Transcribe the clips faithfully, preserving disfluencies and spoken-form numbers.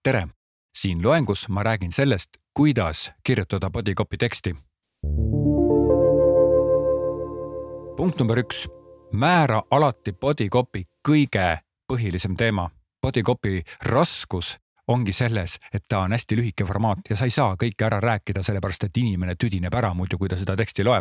tere! Siin loengus ma räägin sellest, kuidas kirjutada bodycopy teksti. Punkt number üks. Määra alati bodycopy kõige põhilisem teema. Bodycopy raskus ongi selles, et ta on hästi lühike formaat ja sa ei saa kõike ära rääkida, sellepärast et inimene tüdineb ära muidu, kui ta seda teksti loeb.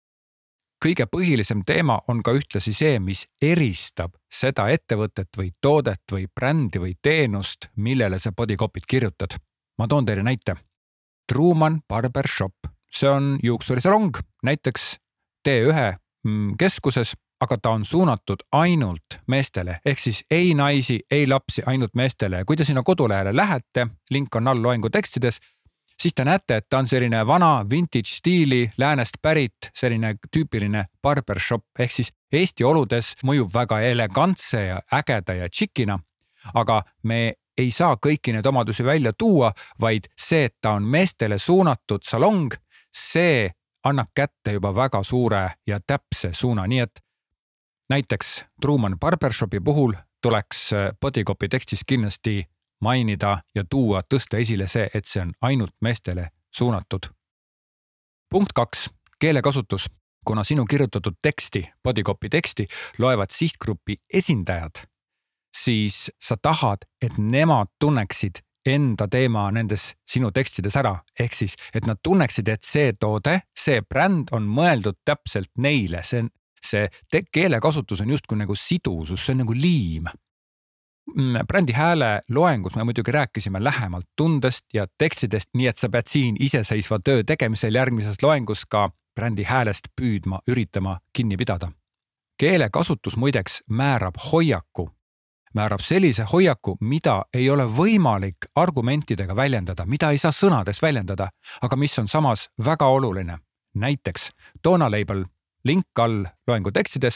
Kõige põhilisem teema on ka ühtlasi see, mis eristab seda ettevõtet või toodet või brändi või teenust, millele sa bodycopyt kirjutad. Ma toon teile näite. Truman Barber Shop. See on juuksurisalong, näiteks T üks keskuses, aga ta on suunatud ainult meestele, ehk siis ei naisi, ei lapsi, ainult meestele. Kui te sinna kodulehele lähete, link on all loengu tekstides, siis te näete, et ta on selline vana vintage stiili, läänest pärit, selline tüüpiline barbershop, ehk siis Eesti oludes mõjub väga elegantse ja ägeda ja tšikina, aga me ei saa kõiki need omadusi välja tuua, vaid see, et ta on meestele suunatud salong, see annab kätte juba väga suure ja täpse suuna, nii et näiteks Truman Barbershopi puhul tuleks bodycopy tekstis kindlasti mainida ja tuua tõsta esile see, et see on ainult meestele suunatud. Punkt kaks. Keelekasutus. Kuna sinu kirjutatud teksti, bodycopy teksti, loevad sihtgrupi esindajad, siis sa tahad, et nemad tunneksid enda teema nendes sinu tekstides ära. Ehk siis, et nad tunneksid, et see toode, see bränd on mõeldud täpselt neile. See, see te- keelekasutus on justkui nagu sidusus, see on nagu liim. Brändi hääle loengus me muidugi rääkisime lähemalt tundest ja tekstidest, nii et sa pead siin iseseisva töö tegemisel järgmises loengus ka brändi häälest püüdma, üritama kinni pidada. Keelekasutus muideks määrab hoiaku. Määrab sellise hoiaku, mida ei ole võimalik argumentidega väljendada, mida ei saa sõnades väljendada, aga mis on samas väga oluline. Näiteks Toona Label, link all loengu tekstides,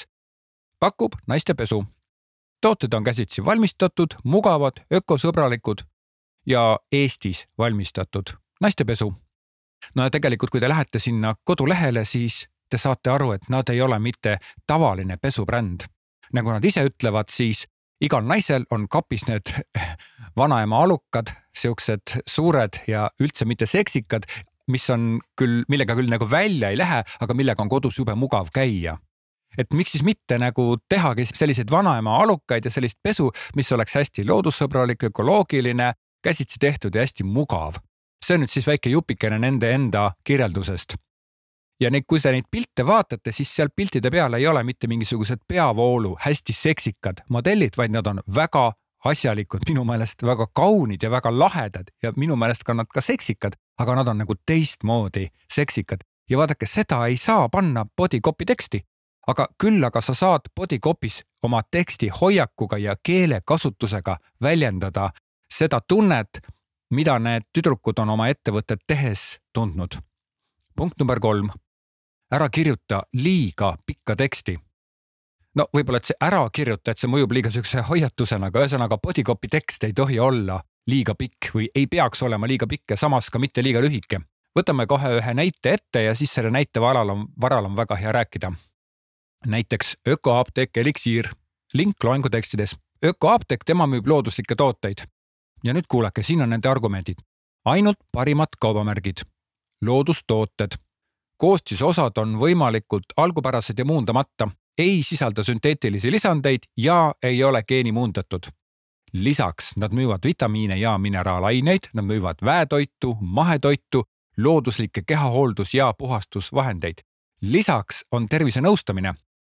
pakub naistepesu. Tooted on käsitsi valmistatud, mugavad, ökosõbralikud ja Eestis valmistatud naistepesu. No ja tegelikult, kui te lähete sinna kodulehele, siis te saate aru, et nad ei ole mitte tavaline pesubränd. Nagu nad ise ütlevad, siis igal naisel on kapis need vanaema alukad, siuksed suured ja üldse mitte seksikad, mis on küll, millega küll nagu välja ei lähe, aga millega on kodus jube mugav käia. Et miks siis mitte nagu tehagi selliseid vanaema alukaid ja sellist pesu, mis oleks hästi loodussõbralik, ökoloogiline, käsitsi tehtud ja hästi mugav. See on nüüd siis väike jupikene nende enda kirjeldusest. Ja neid, kui sa neid pilte vaatate, siis seal piltide peal ei ole mitte mingisugused peavoolu, hästi seksikad modellid, vaid nad on väga asjalikud, minu meelest väga kaunid ja väga lahedad ja minu meelest ka nad ka seksikad, aga nad on nagu teistmoodi seksikad. Ja vaadake, seda ei saa panna bodycopy teksti, aga küll aga sa saad bodycopys oma teksti hoiakuga ja keelekasutusega väljendada seda tunnet, mida need tüdrukud on oma ettevõtet tehes tundnud. Punkt number kolm. Ära kirjuta liiga pikka teksti. No võib-olla, et see ära kirjuta, et see mõjub liiga sükse hoiatusena, aga ühesõnaga bodycopy tekst ei tohi olla liiga pikk või ei peaks olema liiga pikk ja samas ka mitte liiga lühike. Võtame kohe ühe näite ette ja siis selle näite varal on, varal on väga hea rääkida. Näiteks ökoapteek Eliksiir, link loengu tekstides. Ökoapteek, tema müüb looduslikke tooteid. Ja nüüd kuulake, siin on nende argumendid. Ainult parimad kaubamärgid. Loodustooted. Koostisosad on võimalikult algupärased ja muundamata, ei sisalda sünteetilisi lisandeid ja ei ole geenimuundatud. Lisaks nad müüvad vitamiine ja mineraalaineid, nad müüvad väetoitu, mahetoitu, looduslikke kehahooldus- ja puhastusvahendeid. Lisaks on tervisenõustamine.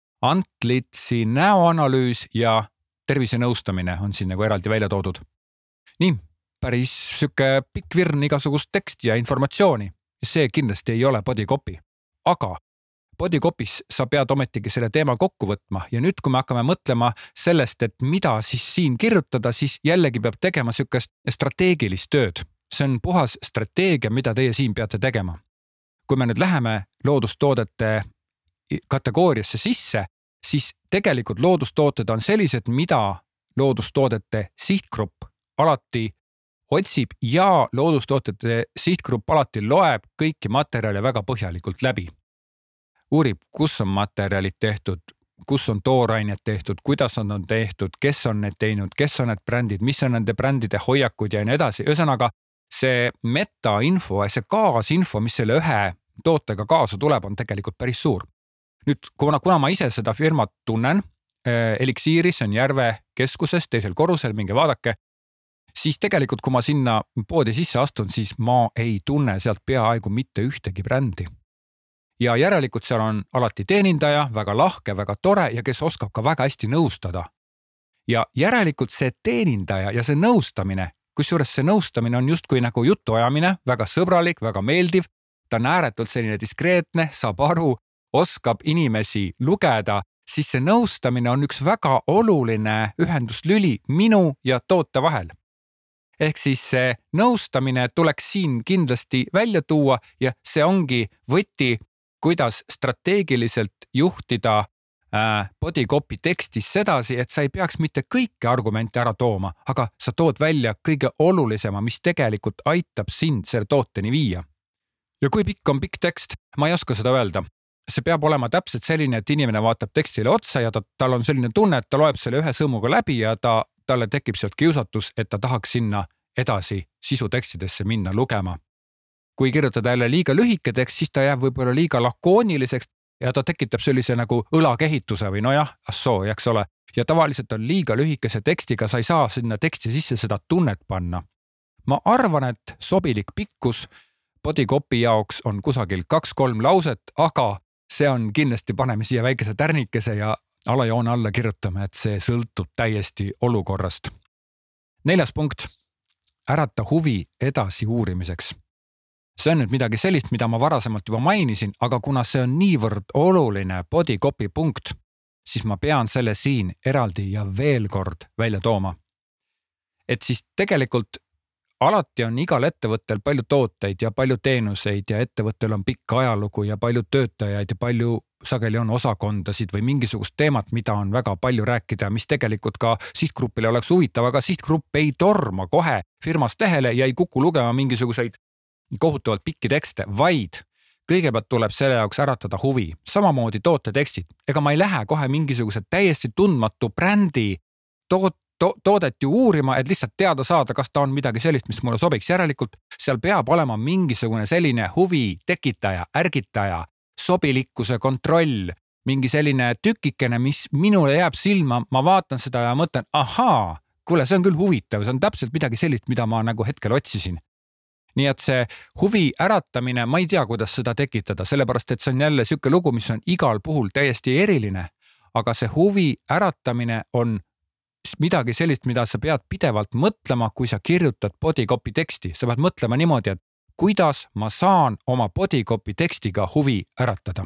Antlitsi näoanalüüs ja tervisenõustamine on siin nagu eraldi välja toodud. Nii, päris süke pikk virn igasugust teksti ja informatsiooni. See kindlasti ei ole bodycopy. Aga bodycopys sa pead ometigi selle teema kokku võtma ja nüüd, kui me hakkame mõtlema sellest, et mida siis siin kirjutada, siis jällegi peab tegema sükest strateegilist tööd. See on puhas strateegia, mida teie siin peate tegema. Kui me nüüd läheme loodustoodete kategooriasse sisse, siis tegelikult loodustooted on sellised, mida loodustoodete sihtgrupp alati otsib ja loodustootjate sihtgrupp alati loeb kõiki materjale väga põhjalikult läbi. Uurib, kus on materjalid tehtud kus on toorainet tehtud, kuidas on, on tehtud, kes on need teinud, kes on need brändid, mis on nende brändide hoiakud ja nii edasi. Ühesõnaga, see metainfo ja see kaasinfo, mis selle ühe tootega kaasa tuleb, on tegelikult päris suur. Nüüd, kuna, kuna ma ise seda firmat tunnen, Elixiiris on Järve keskuses, teisel korrusel, minge vaadake, siis tegelikult, kui ma sinna poodi sisse astun, siis ma ei tunne sealt peaaegu mitte ühtegi brändi. Ja järelikult seal on alati teenindaja, väga lahke, väga tore ja kes oskab ka väga hästi nõustada. Ja järelikult see teenindaja ja see nõustamine, kusjuures see nõustamine on justkui nagu jutuajamine, väga sõbralik, väga meeldiv, ta on ääretult selline diskreetne, saab aru, oskab inimesi lugeda, siis see nõustamine on üks väga oluline ühenduslüli minu ja toote vahel. Ehk siis see nõustamine tuleks siin kindlasti välja tuua ja see ongi võti, kuidas strateegiliselt juhtida äh, bodycopy tekstis sedasi, et sa ei peaks mitte kõiki argumente ära tooma, aga sa tood välja kõige olulisema, mis tegelikult aitab sind selle tooteni viia. Ja kui pikk on pikk tekst, ma ei oska seda öelda. See peab olema täpselt selline, et inimene vaatab tekstile otsa ja ta, tal on selline tunne, et ta loeb selle ühe sõmuga läbi ja ta, talle tekib sealt kiusatus, et ta tahaks sinna edasi sisutekstidesse minna lugema. Kui kirjutada jälle liiga lühike tekst, siis ta jääb võib-olla liiga lakooniliseks ja ta tekitab sellise nagu õlakehituse või nojah, assoo, eks ole. Ja tavaliselt on liiga lühikese tekstiga, sa ei saa sinna teksti sisse seda tunnet panna. Ma arvan, et sobilik pikkus bodycopy jaoks on kusagil kaks-kolm lauset, aga see on kindlasti paneme siia väikese tärnikese ja alajoone alla kirjutame, et see sõltub täiesti olukorrast. Neljas punkt. Ärata huvi edasi uurimiseks. See on nüüd midagi sellist, mida ma varasemalt juba mainisin, aga kuna see on niivõrd oluline bodycopy punkt, siis ma pean selle siin eraldi ja veel kord välja tooma. Et siis tegelikult alati on igal ettevõttel palju tooteid ja palju teenuseid ja ettevõttel on pikk ajalugu ja palju töötajaid ja palju sageli on osakondasid või mingisugust teemat, mida on väga palju rääkida, mis tegelikult ka sihtgrupile oleks huvitav, aga sihtgrupp ei torma kohe firmast lehele ja ei kuku lugema mingisuguseid kohutavalt pikki tekste, vaid kõigepealt tuleb selle jaoks äratada huvi. Samamoodi tootetekstid. Ega ma ei lähe kohe mingisuguse täiesti tundmatu brändi toot, to, toodet ju uurima, et lihtsalt teada saada, kas ta on midagi sellist, mis mulle sobiks. Järelikult seal peab olema mingisugune selline huvi tekitaja, ärgitaja, sobilikkuse kontroll, mingi selline tükikene, mis minule jääb silma, ma vaatan seda ja mõtlen, ahaa, kuule, see on küll huvitav, see on täpselt midagi sellist, mida ma nagu hetkel otsisin. Nii et see huvi äratamine, ma ei tea, kuidas seda tekitada, sellepärast, et see on jälle siuke lugu, mis on igal puhul täiesti eriline, aga see huvi äratamine on midagi sellist, mida sa pead pidevalt mõtlema, kui sa kirjutad bodycopy teksti. Sa pead mõtlema niimoodi, et kuidas ma saan oma bodycopy tekstiga huvi äratada.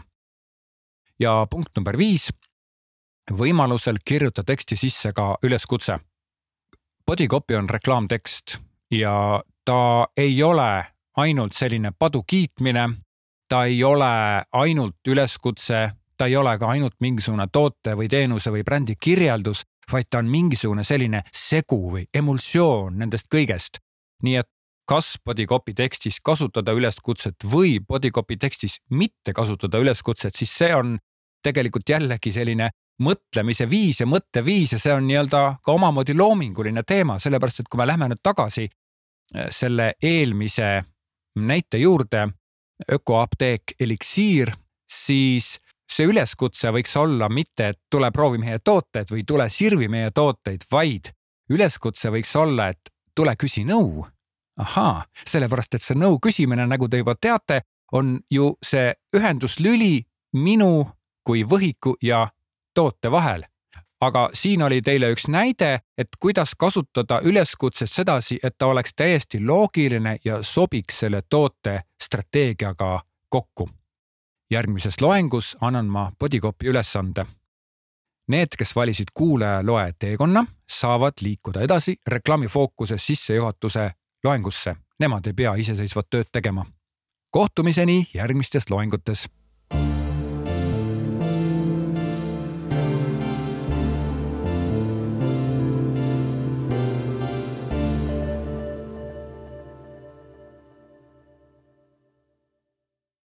Ja punkt number viis, võimalusel kirjuta teksti sisse ka üleskutse. Bodycopy on reklaamtekst ja ta ei ole ainult selline padu kiitmine, ta ei ole ainult üleskutse, ta ei ole ka ainult mingisugune toote või teenuse või brändi kirjeldus, vaid ta on mingisugune selline segu või emulsioon nendest kõigest. Nii et kas bodycopy tekstis kasutada üleskutset või bodycopy tekstis mitte kasutada üleskutset, siis see on tegelikult jällegi selline mõtlemise viis ja mõtteviis ja see on nii-öelda ka omamoodi loominguline teema, sellepärast, et kui me lähme nüüd tagasi selle eelmise näite juurde, ökoapteek Elixiir, siis see üleskutse võiks olla mitte, et tule proovi meie tooteid või tule sirvi meie tooteid, vaid üleskutse võiks olla, et tule küsi nõu. Ahaa, sellepärast, et see nõu küsimine, nagu te juba teate, on ju see ühenduslüli minu kui võhiku ja toote vahel. Aga siin oli teile üks näide, et kuidas kasutada üleskutset sedasi, et ta oleks täiesti loogiline ja sobiks selle toote strateegiaga kokku. Järgmises loengus annan ma bodycopy ülesande. Need, kes valisid kuulaja loe teekonna, saavad liikuda edasi reklaamifookuse sissejuhatuse loengusse. Nemad ei pea iseseisvat tööd tegema. Kohtumiseni järgmistes loengutes.